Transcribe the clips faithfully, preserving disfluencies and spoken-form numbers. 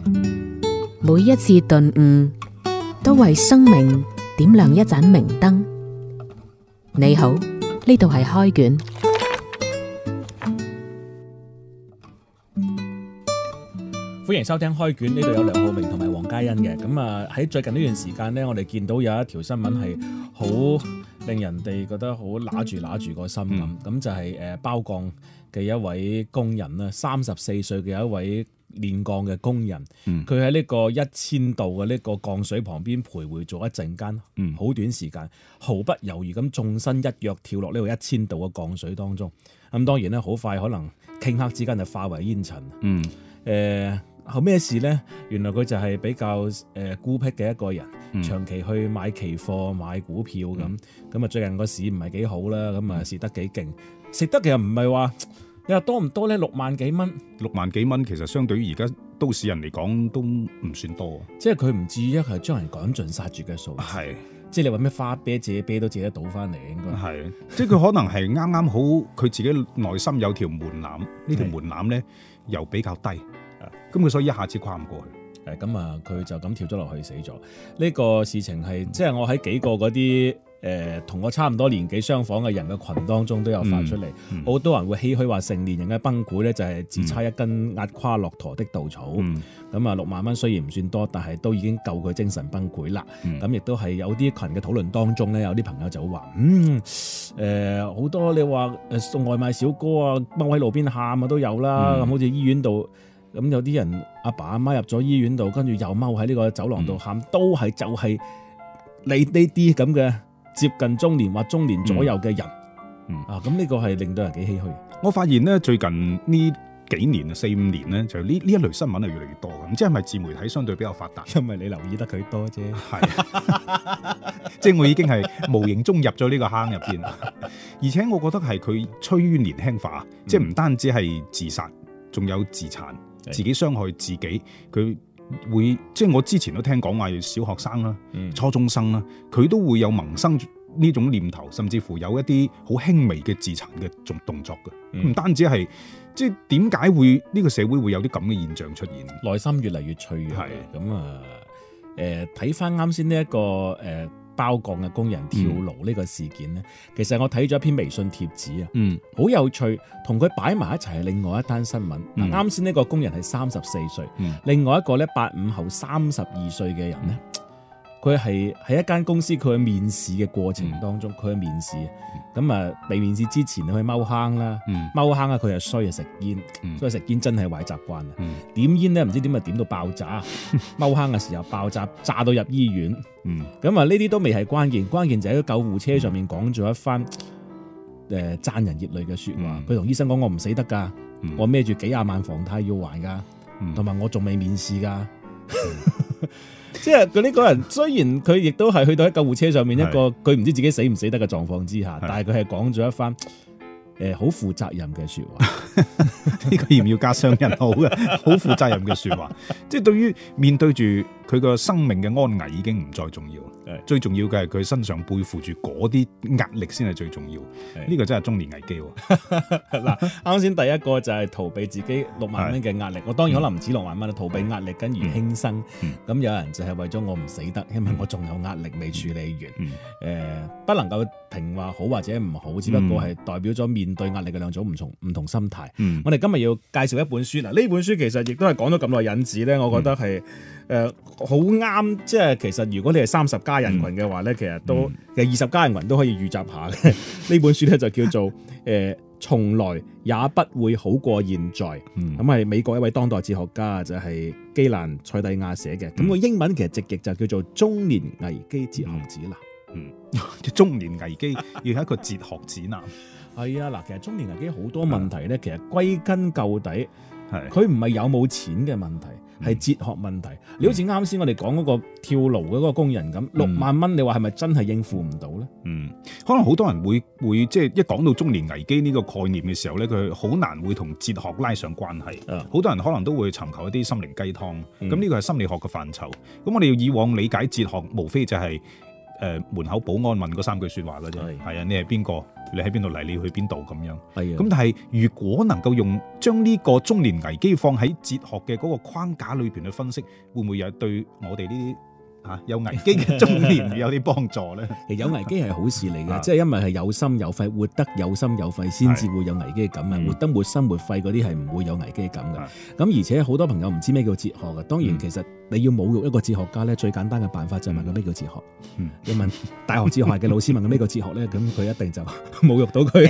每一次頓悟，都為生命點亮一盞明燈。你好，呢度係開卷。 歡迎收聽開卷，呢度有梁浩明同埋黃嘉欣嘅。咁啊喺最近呢段時間呢，我哋見到有一條新聞係好令人哋覺得好揦住揦住個心咁。咁、嗯、就係誒包鋼嘅一位工人啦，三十四歲嘅一位煉鋼嘅工人，佢喺呢個一千度嘅呢個鋼水旁邊徘徊咗一陣間，好、嗯、短時間，毫不猶豫咁縱身一躍跳落呢個一千度嘅鋼水當中。咁當然咧，好快可能頃刻之間就化為煙塵。嗯，誒、呃。後咩事呢？原來佢就係比較誒、呃、孤僻嘅一個人，嗯、長期去買期貨、買股票咁。咁啊、嗯，最近個市唔係幾好啦，咁啊蝕得幾勁。蝕得其實唔係話你話多唔多呢？六萬幾蚊， 六萬幾蚊其實相對於而家都市人嚟講都唔算多。 即係佢唔至於係將人趕盡殺絕嘅數。係，即係你話咩花啤借啤都借得到翻嚟，應該係。即係佢可能係啱啱好，佢自己內心有條門檻，呢條門檻咧又比較低。咁佢所以一下子跨唔過去， 誒咁啊，佢就咁跳咗落去死咗。呢、這個事情係、嗯、即係我喺幾個嗰啲誒同我差唔多年紀相仿嘅人嘅群當中都有發出嚟，好、嗯嗯、多人會唏噓話成年人嘅崩潰咧就係只差一根壓垮駱駝的稻草。咁啊、嗯、六萬蚊雖然唔算多，但係都已經夠佢精神崩潰啦。咁亦都係有啲群嘅討論當中咧，有啲朋友就會話嗯誒好、呃、多你話誒送外賣小哥啊踎喺路邊喊啊都有啦，咁、嗯、好似醫院度。咁有啲人阿爸阿媽入咗醫院度，跟住又踎喺呢個走廊度喊，嗯、都係就係你呢啲咁嘅接近中年或中年左右嘅人，嗯、啊咁呢個係令到人幾唏噓。 我發現咧最近呢幾年啊四五年咧，就呢呢一類新聞係越嚟越多嘅，唔知係咪自媒體相對比較發達？ 因為你留意得佢多啫， 係，即係我已經係無形中入咗呢個坑入邊，而且我覺得係佢趨於年輕化，嗯、即係唔單止係自殺，仲有自殘。自己傷害自己，佢會即係我之前都聽講話，小學生啦、嗯、初中生啦，佢都會有萌生呢種念頭，甚至乎有一啲好輕微嘅自殘嘅動動作嘅。唔、嗯、單止係即係點解會呢、呢個社會會有啲咁嘅現象出現？ 內心越嚟越脆弱。係咁啊，誒睇翻啱先呢一個誒。呃包鋼嘅工人跳樓呢個事件呢，嗯、其實我睇咗一篇微信貼紙啊，嗯，好有趣，同佢擺埋一齊係另外一單新聞。嗱，啱先呢個工人係三十四歲，嗯、另外一個咧八五後三十二歲嘅人呢，佢係喺一間公司，佢去面試嘅過程當中，佢去、嗯、面試，咁啊未面試之前去踎坑啦，踎坑啊佢又衰啊食煙，嗯、所以食煙真係壞習慣啊，嗯、點煙咧唔知點啊點到爆炸，踎坑嘅時候爆炸，炸到入醫院。咁啊，呢啲都未係關鍵，關鍵就喺救護車上面講咗一番誒賺人熱淚嘅說話。佢同、嗯、醫生講：我唔死得噶，嗯、我孭住幾廿萬房貸要還噶，同埋、嗯、我仲未面試噶。嗯、即係佢呢個人，雖然佢亦都係去到喺救護車上面一個佢唔知自己死唔死得嘅狀況之下，是但係佢係講咗一番誒好負責任嘅說話。 呢個要唔要加雙引號嘅？好負責任嘅說話，即係對於面對住佢個生命嘅安危已經唔再重要，是最重要嘅係佢身上背負住嗰啲壓力先係最重要。呢是個真係中年危機。 嗱，啱先第一個就係逃避自己六萬蚊嘅壓力，是我當然可能唔止六萬蚊，逃避壓力跟而輕生。咁、嗯、有人就係為咗我唔死得，因為我仲有壓力未處理完。誒、嗯呃，不能夠評話好或者唔好，只不過係代表咗面對壓力嘅兩種唔同唔同心態。嗯、我哋今日要介紹一本書，嗱，呢本書其實亦都係講咗咁耐引子咧，我覺得係誒好啱，即係其實如果你係三十加人群嘅話咧，嗯、其實都其實二十加人群都可以預習下嘅。呢本書咧就叫做誒從來也不會好過現在，咁係、嗯、美國一位當代哲學家就係基蘭塞蒂亞寫嘅，咁、嗯、個英文其實直譯就叫做中年危機哲學指南。 嗯，中年危機要係一個哲學指南。 係啊，嗱，其實中年危機好多問題咧，其實歸根究底，係佢唔係有冇錢嘅問題，係哲學問題。嗯、你好似啱先我哋講嗰個跳樓嘅嗰個工人咁，嗯、六萬蚊，你話係咪真係應付唔到咧？嗯，可能好多人會會即係一講到中年危機呢個概念嘅時候咧，佢好難會同哲學拉上關係。好、嗯、多人可能都會尋求一啲心靈雞湯。咁呢個係心理學嘅範疇。咁我哋要以往理解哲學，無非就係、是。 誒門口保安問嗰三句説話嘅啫。係啊，你係邊個？你喺邊度嚟？你要去邊度咁樣？係啊。咁但係如果能夠用將呢個中年危機放喺哲學嘅嗰個框架裏邊去分析，會唔會有對我哋呢啲嚇有危機嘅中年有啲幫助咧？ 其實有危機係好事嚟嘅，即係因為係有心有肺，活得有心有肺先至會有危機感啊！活得沒心沒肺嗰啲係唔會有危機感嘅。咁而且好多朋友唔知咩叫哲學嘅，當然其實你要侮辱一個哲學家咧，最簡單嘅辦法就係問佢咩叫哲學。嗯、你問大學哲學嘅老師問佢咩叫哲學咧，咁佢一定就侮辱到佢。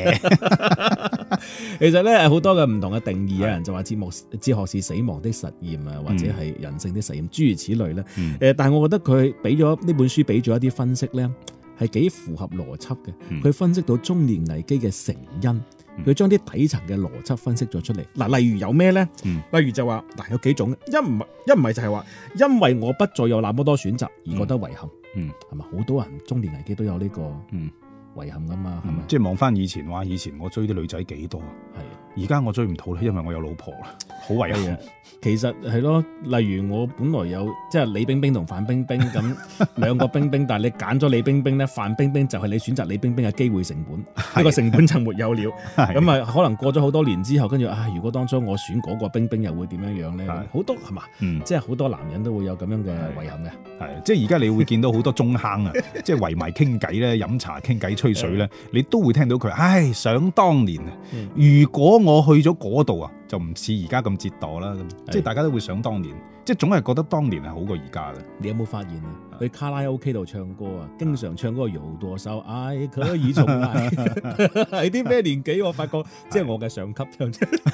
其實咧好多嘅唔同嘅定義，有人就話哲學哲學是死亡的實驗啊，或者係人性的實驗，諸如此類咧。誒、嗯，但係我覺得佢俾咗呢本書俾咗一啲分析咧，係幾符合邏輯嘅。佢、嗯、分析到中年危機嘅成因。佢將啲底層嘅邏輯分析咗出嚟。嗱，例如有咩咧？嗯、例如就話嗱，有幾種，一唔係一唔係就係話，因為我不再有那麼多選擇而覺得遺憾。嗯，係咪好多人中年危機都有呢個遺憾噶嘛？係咪、嗯？即係望翻以前話，以前我追啲女仔幾多？係，而家我追唔到咧，因為我有老婆啦，好遺憾。其實係咯，例如我本來有即係李冰冰同范冰冰咁兩個冰冰，但係你揀咗李冰冰咧，范冰冰就係你選擇李冰冰嘅機會成本，呢個成本就沒有了。咁啊，可能過咗好多年之後，跟住啊，如果當初我選嗰個冰冰，又會點樣樣咧？好多係嘛，嗯、即係好多男人都會有咁樣嘅遺憾嘅。係，即係而家你會見到好多中坑啊，即係圍埋傾偈咧，飲茶傾偈吹水咧，你都會聽到佢，唉，想當年啊，如果我去咗嗰度啊，就唔似而家咁折墮啦。即係大家都會想當年，即係總係覺得當年係好過而家嘅。你有冇發現啊？去卡拉 OK 度唱歌啊，經常唱嗰個有多少愛可以重來，係啲咩年紀？我發覺即係我嘅上級唱，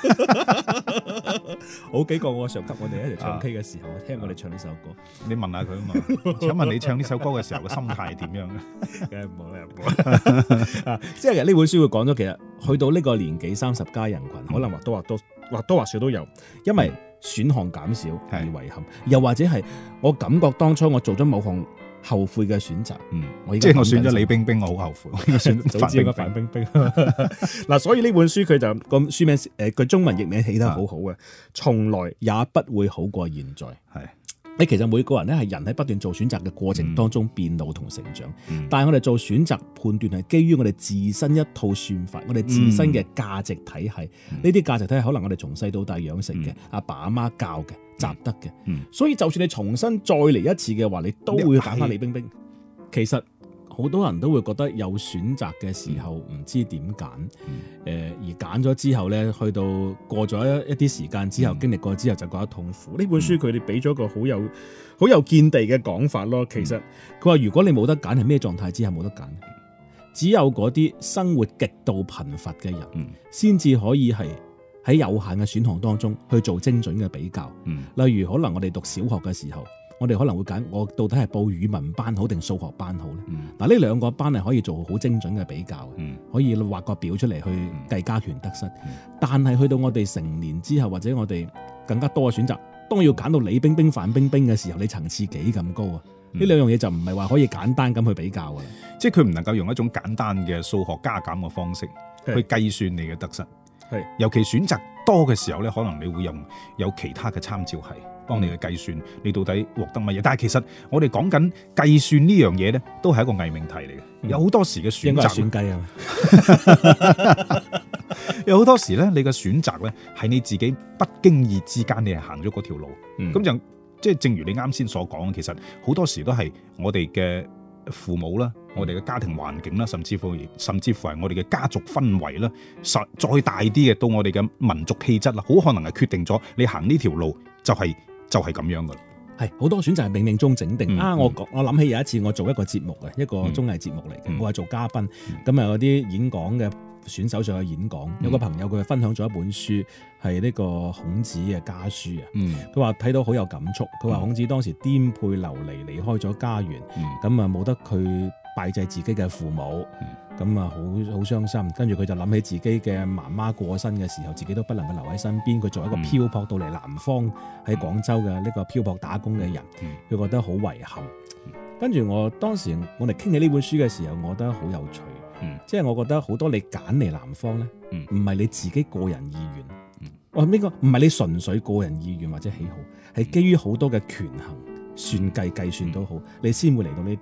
好幾個我上級，我哋一齊唱 K 嘅時候，我聽我哋唱呢首歌。你問下佢啊嘛？請問你唱呢首歌嘅時候嘅心態係點樣嘅？梗係唔好啦，唔好。即係呢本書會講咗，其實去到呢個年紀三十加人群，可能或多或多或多或少都有，因為選項減少而遺憾，又或者係我感覺當初我做咗某項後悔嘅選擇，嗯，我即係我選咗李冰冰，我好後悔，我應該選早知應該范冰冰。嗱，所以呢本書佢就個書名誒，佢中文譯名起得好好嘅，從來也不會好過現在。係。你其實每個人咧係人喺不斷做選擇嘅過程當中變老同成長，嗯、但係我哋做選擇判斷係基於我哋自身一套算法，我哋自身嘅價值體系。呢啲價值體系可能我哋從細到大養成嘅，阿、嗯、爸阿媽教嘅，習得嘅。嗯、所以就算你重新再嚟一次嘅話，你都會揀翻李冰冰。其實好多人都會覺得有選擇嘅時候唔知點揀，誒、嗯、而揀咗之後咧，去到過咗一一啲時間之後，嗯、經歷過之後就覺得痛苦。呢、嗯、本書佢哋俾咗個好有好有見地嘅講法咯。其實佢話如果你冇得揀，係咩狀態之下冇得揀？只有嗰啲生活極度貧乏嘅人，先至、嗯、可以係喺有限嘅選項當中去做精準嘅比較。嗯、例如可能我哋讀小學嘅時候。我哋可能會揀，我到底係報語文班好定數學班好咧？嗱、嗯，呢兩個班係可以做好精準嘅比較嘅，嗯、可以畫個表出嚟去計加權得失。嗯、但係去到我哋成年之後，或者我哋更加多嘅選擇，當要揀到李冰冰、范冰冰嘅時候，你層次幾咁高啊？呢、嗯、兩樣嘢就唔係話可以簡單咁去比較嘅，即係佢唔能夠用一種簡單嘅數學加減嘅方式去計算你嘅得失。係，尤其選擇多嘅時候咧，可能你會用有其他嘅參照系。幫你嘅計算，你到底獲得乜嘢？但係其實我哋講緊計算呢樣嘢咧，都係一個偽命題嚟嘅。嗯、有好多時嘅選擇，選計啊！有好多時咧，你嘅選擇咧係你自己不經意之間，你係行咗嗰條路。咁、嗯、就即係正如你啱先所講，其實好多時都係我哋嘅父母啦，我哋嘅家庭環境啦，甚至乎甚至乎係我哋嘅家族氛圍啦，實再大啲嘅到我哋嘅民族氣質啦，好可能係決定咗你行呢條路就係、是。就係咁樣噶啦，係好多選擇係冥冥中整定、嗯、啊！我我諗起有一次我做一個節目嘅一個綜藝節目嚟嘅，嗯、我係做嘉賓，咁啊有啲演講嘅選手上去演講，嗯、有個朋友佢分享咗一本書，係呢個孔子嘅家書啊。佢話睇到好有感觸，佢話孔子當時顛沛流離離開咗家園，咁啊冇得佢拜祭自己嘅父母。嗯咁啊，好好傷心。跟住佢就諗起自己嘅媽媽過身嘅時候，自己都不能夠留喺身邊。佢作為一個漂泊到嚟南方喺廣州嘅呢個漂泊打工嘅人，佢、嗯、覺得好遺憾。跟住、嗯、我當時我哋傾起呢本書嘅時候，我覺得好有趣。嗯、即係我覺得好多你揀嚟南方咧，唔係、嗯、你自己個人意願。嗯、我呢個唔係你純粹個人意願或者喜好，係基於好多嘅權衡、算計、計算都好，你先會嚟到呢度。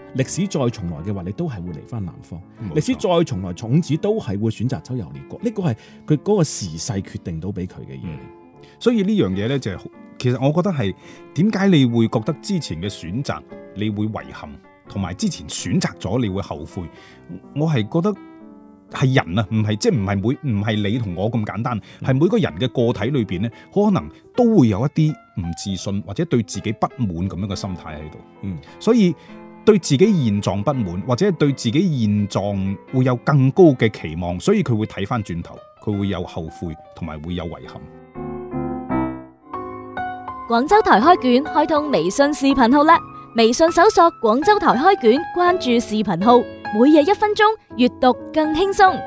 歷史再重來嘅話，你都係會嚟翻南方。 冇錯歷史再重來，種子都係會選擇周遊列國。呢個係佢嗰個時勢決定到俾佢嘅嘢。 嗯所以呢樣嘢呢，就係、其實我覺得係點解你會覺得之前嘅選擇你會遺憾，同埋之前選擇咗你會後悔。我係覺得係人啊，唔係即係唔係每唔係你同我咁簡單，係、嗯、每個人嘅個體裏邊呢，可能都會有一啲唔自信或者對自己不滿咁樣嘅心態喺度。嗯，所以對自己現狀不滿，或者對自己現狀會有更高嘅期望，所以佢會睇翻轉頭，佢會有後悔同埋會有遺憾。 廣州台開卷開通微信視頻號啦！微信搜索廣州台開卷，關注視頻號，每日一分鐘，閱讀更輕鬆。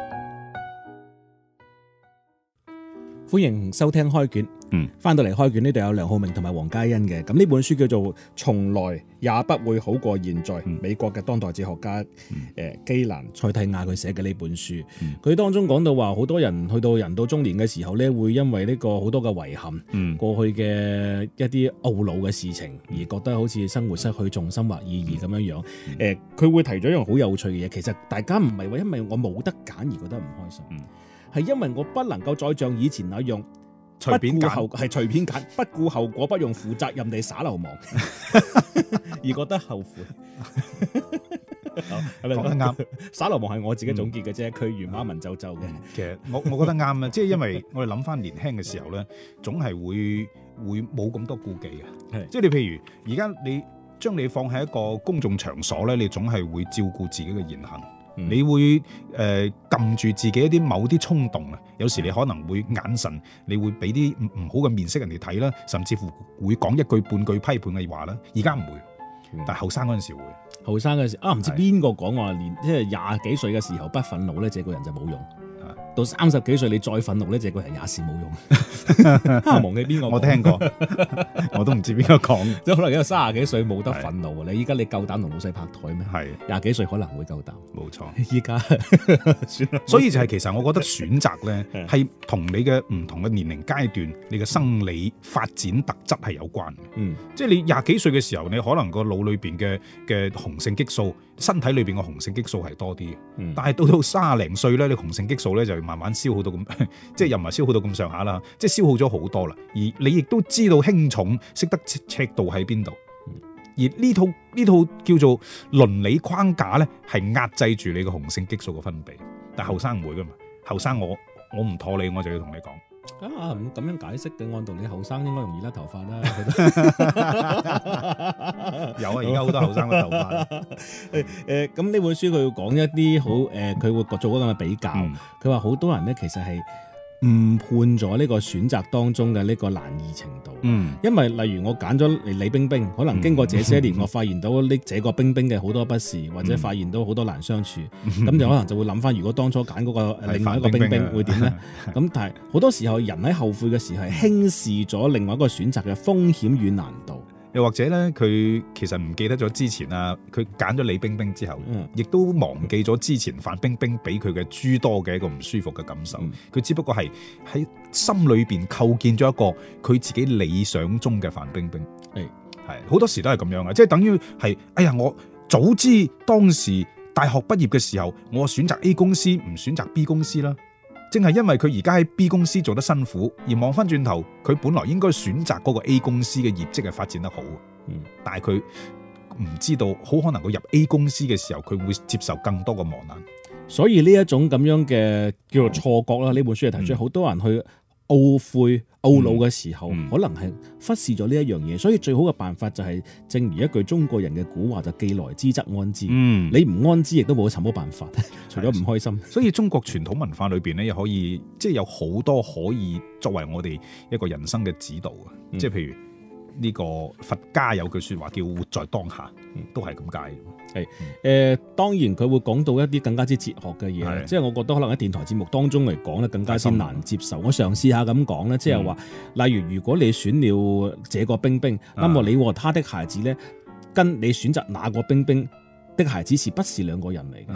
歡迎收聽開卷。嗯，翻到嚟開卷呢度有梁浩明同埋黃嘉欣嘅。咁呢本書叫做《從來也不會好過現在》，嗯、美國嘅當代哲學家誒、嗯呃、基蘭塞蒂亞佢寫嘅呢本書。佢、嗯、當中講到話，好多人去到人到中年嘅時候咧，會因為呢個好多嘅遺憾，嗯、過去嘅一啲懊惱嘅事情，而覺得好似生活失去重心或意義咁樣樣。誒、嗯，佢、呃、會提咗一樣好有趣嘅嘢，其實大家唔係話因為我冇得揀而覺得唔開心，係、嗯、因為我不能夠再像以前那樣。隨便揀係隨便揀，不顧後果，不用負責任地耍流氓，而覺得後悔。講得啱，耍流氓係我自己總結嘅啫，佢、嗯、原話文縐縐嘅。其實我我覺得啱啊，即係因為我哋諗翻年輕嘅時候咧，總係會會冇咁多顧忌嘅。即係你譬如而家你將你放喺一個公眾場所咧，你總係會照顧自己嘅言行。嗯、你會誒撳、呃、住自己一啲某啲衝動啊，有時你可能會眼神，你會俾啲唔唔好嘅面色人哋睇啦，甚至乎會講一句半句批判嘅話啦。而家唔會，嗯、但係後生嗰陣時會。後生嗰陣時啊，唔知邊個講話，連即係廿幾歲嘅時候不憤怒咧，這個人就冇用。到三十幾歲你再憤怒咧，這個人也是冇用。忘記邊個？我聽過，我都唔知邊個講。即係可能因為三十幾歲冇得憤怒，你依家你夠膽同老細拍台咩？係廿幾歲可能會夠膽。冇錯，依家算啦。所以就係其實我覺得選擇咧係同你嘅唔同嘅年齡階段，你嘅生理發展特質係有關嘅。嗯，即係你廿幾歲嘅時候，你可能個腦裏邊嘅嘅雄性激素，身體裏邊嘅雄性激素係多啲嘅。嗯，但係到到卅零歲咧，你雄性激素咧就慢慢消耗到咁，即係又唔係消耗到咁上下啦，即係消耗咗好多啦。而你亦都知道輕重，識得尺度喺邊度。而呢套呢套叫做倫理框架咧，係壓制住你個雄性激素嘅分泌。但係後生唔會噶嘛，後生我我唔妥你，我就要同你講。啊，咁樣解釋嘅，按道理後生應該容易甩頭髮啦。有啊，而家好多後生甩頭髮。誒誒，咁呢本書佢要講一啲好誒，佢會做嗰咁嘅比較。佢話好多人咧，其實係誤判咗呢個選擇當中嘅呢個難易程度。嗯，因為例如我揀咗李冰冰，可能經過這些年，嗯、我發現到呢這個冰冰嘅好多不是，或者發現到好多難相處，咁、嗯、就可能就會諗翻，如果當初揀嗰個另外一個冰冰，冰冰會點呢？咁但係好多時候人喺後悔嘅時候係輕視咗另外一個選擇嘅風險與難度。又或者咧，佢其實唔記得咗之前啊，佢揀咗李冰冰之後，亦、嗯、都忘記咗之前范冰冰俾佢嘅諸多嘅一個唔舒服嘅感受。佢、嗯、只不過係喺心裏邊構建咗一個佢自己理想中嘅范冰冰。係係好多時都係咁樣嘅，即係等於係，哎呀，我早知當時大學畢業嘅時候，我選擇 A 公司唔選擇 B 公司啦。正係因為佢而家喺 B 公司做得辛苦，而望翻轉頭，佢本來應該選擇嗰個 A 公司嘅業績係發展得好，嗯、但係佢唔知道，好可能佢入 A 公司嘅時候，佢會接受更多嘅磨難。所以呢一種咁樣嘅叫做錯覺啦，呢、嗯、本書係提出好、嗯、多人去懊悔、懊惱嘅時候，嗯、可能係忽視咗呢一樣嘢。所以最好嘅辦法就係，正如一句中國人嘅古話，就既來之則安之。嗯、你唔安之，亦都冇尋冇辦法，除咗唔開心。所以中國傳統文化裏邊咧，又可以即係有好多可以作為我哋一個人生嘅指導嘅。嗯、即係譬如呢個佛家有句說話叫活在當下，嗯、都係咁解。係誒、呃，當然佢會講到一啲更加之哲學嘅嘢，即係我覺得可能喺電台節目當中嚟講咧，更加之難接受。我嘗試下咁講咧，即係話，例如如果你選了這個冰冰，那麼、嗯、你和他的孩子咧，跟你選擇那個冰冰的孩子是不是兩個人嚟嘅？嗯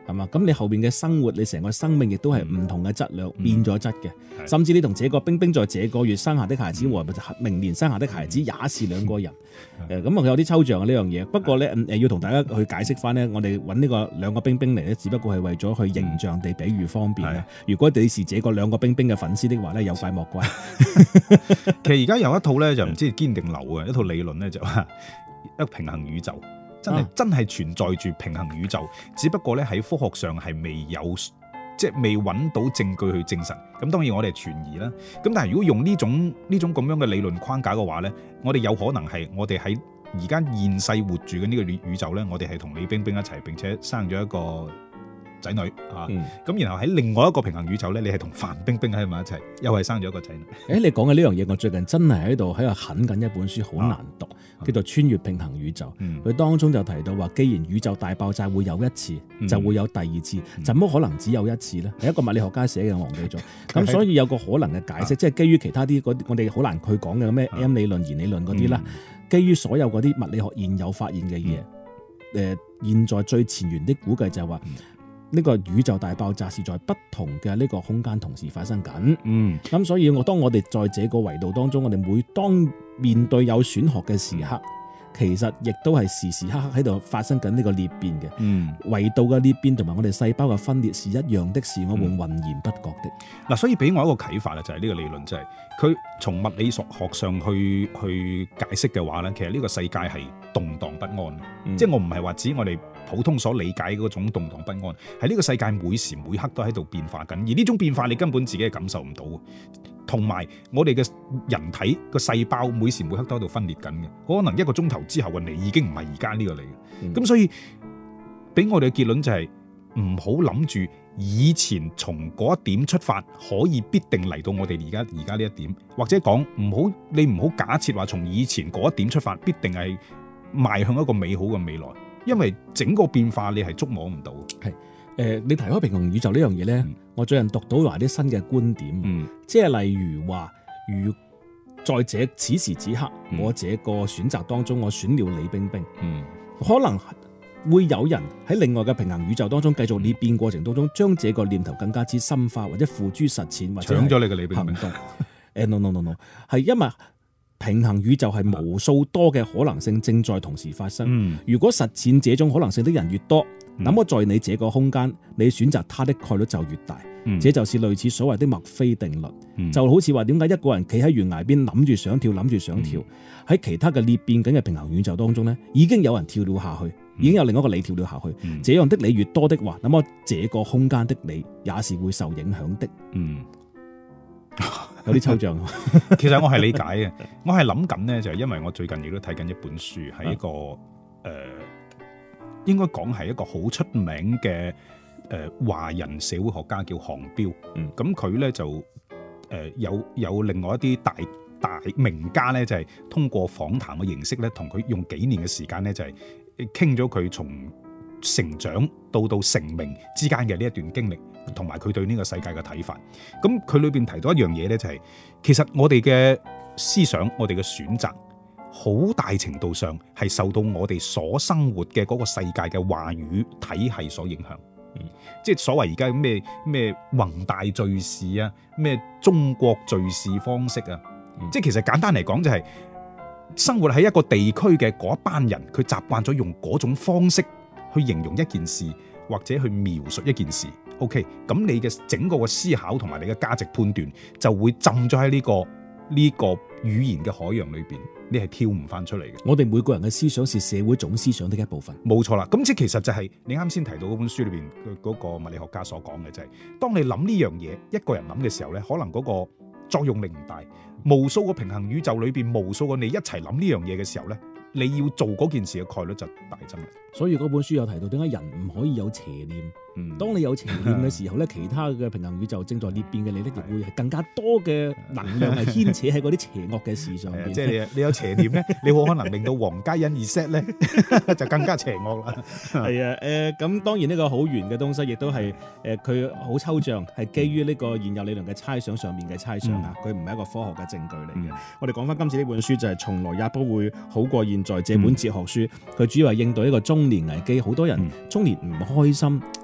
係嘛？咁你後邊嘅生活，你成個生命亦都係唔同嘅質量、嗯、變咗質嘅， 嗯、 甚至你同這個冰冰在這個月生下的孩子和明年生下的孩子也是兩個人。誒咁啊，有啲抽象嘅呢樣嘢。不過咧誒，要同大家去解釋翻咧，我哋揾呢個兩個冰冰嚟咧，只不過係為咗去形象地比喻方便嘅。嗯、如果你是這個兩個冰冰嘅粉絲的話咧，有怪莫怪。 其實而家有一套咧，就唔知堅定流嘅一套理論咧，就話一個平衡宇宙。真係、啊、真係存在住平衡宇宙，只不過咧喺科學上係未有，即係未揾到證據去證實。咁當然我哋係存疑啦。咁但係如果用呢種呢種咁樣嘅理論框架嘅話咧，我哋有可能係我哋喺而家現世活住嘅呢個宇宙咧，我哋係同李冰冰一齊，並且生咗一個仔女啊。咁、嗯、然後喺另外一個平衡宇宙咧，你係同范冰冰喺埋一齊，又係生咗一個仔女。誒，你講嘅呢樣嘢，我最近真係喺度喺度啃緊一本書，好難讀。啊叫做穿越平衡宇宙，佢、嗯、當中就提到話，既然宇宙大爆炸會有一次，嗯、就會有第二次，嗯、怎麼可能只有一次呢？係一個物理學家寫嘅，我忘記咗。咁所以有個可能嘅解釋，啊、即係基於其他啲嗰啲我哋好難去講嘅咩 M 理論、弦理論嗰啲啦。嗯、基於所有嗰啲物理學現有發現嘅嘢，誒、嗯呃，現在最前沿的估計就係話，呢、嗯、個宇宙大爆炸是在不同嘅呢個空間同時發生緊。嗯，咁所以我當我哋在這個維度當中，我哋每當面對有選學嘅時刻，其實亦都係時時刻刻喺度發生緊呢個裂變嘅。嗯，維度嘅裂變同埋我哋細胞嘅分裂是一樣的，是我們渾然不覺的。嗱、嗯，所以俾我一個啟發啦，就係呢個理論，就係佢從物理學上去去解釋嘅話咧，其實呢個世界係動盪不安。嗯、即係我唔係話指我哋普通所理解嗰種動盪不安，係呢個世界每時每刻都喺度變化緊，而呢種變化你根本自己係感受唔到。同埋我哋嘅人體個細胞每時每刻都喺度分裂緊嘅，可能一個鐘頭之後嘅你已經唔係而家呢個你嘅。咁、嗯、所以俾我哋嘅結論就係唔好諗住以前從嗰一點出發可以必定嚟到我哋而家而家呢一點，或者講唔好你唔好假設話從以前嗰一點出發必定係邁向一個美好嘅未來，因為整個變化你係捉摸唔到。係。誒、呃，你提開平衡宇宙呢樣嘢咧，嗯、我最近讀到話啲新嘅觀點，嗯、即係例如話，如在這此時此刻，嗯、我這個選擇當中，我選了李冰冰，嗯、可能會有人喺另外嘅平衡宇宙當中繼續裂變過程當中，將這個念頭更加之深化，或者付諸實踐，或者搶咗你嘅李冰冰。誒、uh, ，no no no no， 係因為平衡宇宙係無數多嘅可能性正在同時發生。嗯、如果實踐這種可能性的人越多，那麼在你這個空間，你選擇它的概率就越大。嗯、這就是類似所謂的墨菲定律。嗯、就好似話點解一個人企喺懸崖邊諗住想跳，諗住想跳，喺、嗯、其他嘅裂變緊嘅平衡宇宙當中呢，已經有人跳了下去，嗯、已經有另一個你跳了下去。嗯、這樣的你越多的話，那麼這個空間的你也是會受影響的。嗯，有啲抽象。其實我係理解嘅，我係諗緊呢，就係因為我最近亦都睇緊一本書，係一個誒。啊呃應該講係一個好出名嘅誒華人社會學家叫韓彪，咁佢咧就誒、呃、有有另外一啲大大名家咧，就係、是、通過訪談嘅形式咧，同佢用幾年嘅時間咧，就係傾咗佢從成長到到成名之間嘅呢一段經歷，同埋佢對呢個世界嘅睇法。咁佢裏邊提到一樣嘢咧，就係、是、其實我哋嘅思想，我哋嘅選擇，好大程度上係受到我哋所生活嘅嗰個世界嘅話語體系所影響，嗯、即係所謂而家咩咩宏大敘事啊，咩中國敘事方式啊，嗯、即係其實簡單嚟講就係生活喺一個地區嘅嗰一班人，佢習慣咗用嗰種方式去形容一件事或者去描述一件事。OK， 咁你嘅整個嘅思考同埋你嘅價值判斷就會浸咗喺呢個呢、這個語言嘅海洋裏邊。你係跳唔翻出嚟嘅。我哋每個人嘅思想是社會總思想的一部分。冇錯啦，咁即係其實就係你啱先提到嗰本書裏邊嗰個物理學家所講嘅，就係當你諗呢樣嘢，一個人諗嘅時候咧，可能嗰個作用力唔大。無數個平衡宇宙裏邊，無數個你一齊諗呢樣嘢嘅時候咧，你要做嗰件事嘅概率就大增啦。所以嗰本書有提到點解人唔可以有邪念。嗯，當你有邪念嘅時候咧，其他嘅平衡宇宙正在裂變嘅你咧，亦會係更加多嘅能量係牽扯喺嗰啲邪惡嘅事上邊。即係你你有邪念咧，你好可能令到黃嘉欣二 set 咧就更加邪惡啦。係啊，誒咁當然呢個好玄嘅東西，亦都係誒佢好抽象，係基於呢個現有理論嘅猜想上面嘅猜想啊，佢唔係一個科學嘅證據嚟嘅。嗯、我哋講翻今次呢本書就係從來也不會好過現在這本哲學書，佢、嗯、主要係應對一個中年危機，好多人中年唔開心。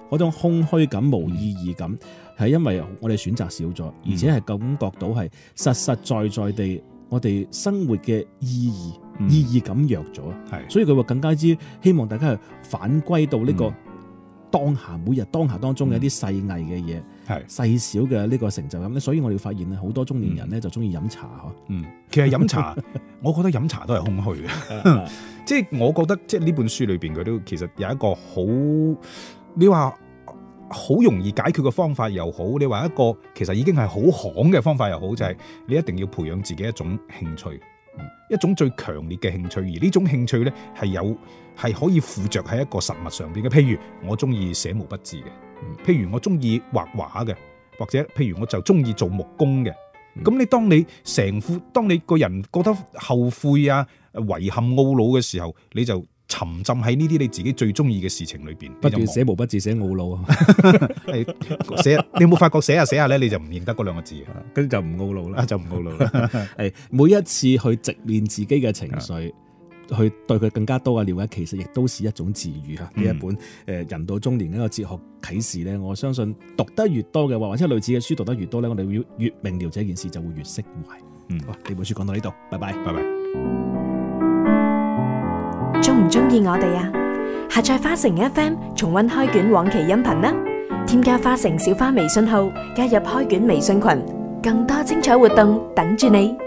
嗰種空虛感、無意義感，係因為我哋選擇少咗，而且係感覺到係實實在在地我哋生活嘅意義、嗯、意義感弱咗，係，所以佢話更加之希望大家係反歸到呢個當下，每日當下當中嘅一啲細藝嘅嘢，係細小嘅呢個成就感咧。所以我哋發現咧，好多中年人咧就中意飲茶嗬。嗯， 其實飲茶，我覺得飲茶都係空虛嘅。即係我覺得，即係呢本書裏邊佢都其實有一個好，你話好容易解決嘅方法又好，你話一個其實已經係好行嘅方法又好，就係、是、你一定要培養自己一種興趣，嗯、一種最強烈嘅興趣。而呢種興趣咧係有係可以附着喺一個實物上邊嘅。譬如我中意寫毛筆字嘅，嗯、譬如我中意畫畫嘅，或者譬如我就中意做木工嘅。咁、嗯、你當你成副，當你個人覺得後悔啊、遺憾、懊惱嘅時候，你就沉浸喺呢啲你自己最中意嘅事情裏邊， 不斷寫毛筆字寫懊惱啊！ 係寫，你有冇發覺寫下寫下咧，你就唔認得嗰兩個字， 跟住就唔懊惱啦， 就唔懊惱啦。 係每一次去直面自己嘅情緒，去對佢更加多嘅了解，其實亦都是一種治愈嚇。呢、嗯、一本誒人到中年嘅一個哲學啟示咧，我相信讀得越多嘅話，或者類似嘅書讀得越多咧，我哋會越明了這件事，就會越釋懷。嗯，哇！呢本書講到呢度，拜拜，拜拜。 鍾唔鍾意我哋啊？下載花城 F M 重溫開卷往期音頻啦！添加花城小花微信號，加入開卷微信群，更多精彩活動等住你。